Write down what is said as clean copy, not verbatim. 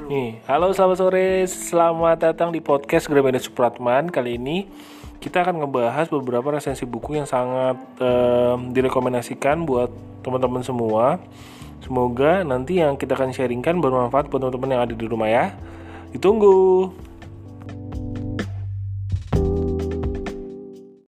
Halo selamat sore, selamat datang di podcast Gramedia Supratman. Kali ini kita akan ngebahas beberapa resensi buku yang sangat direkomendasikan buat teman-teman semua. Semoga nanti yang kita akan sharingkan bermanfaat buat teman-teman yang ada di rumah ya. Ditunggu.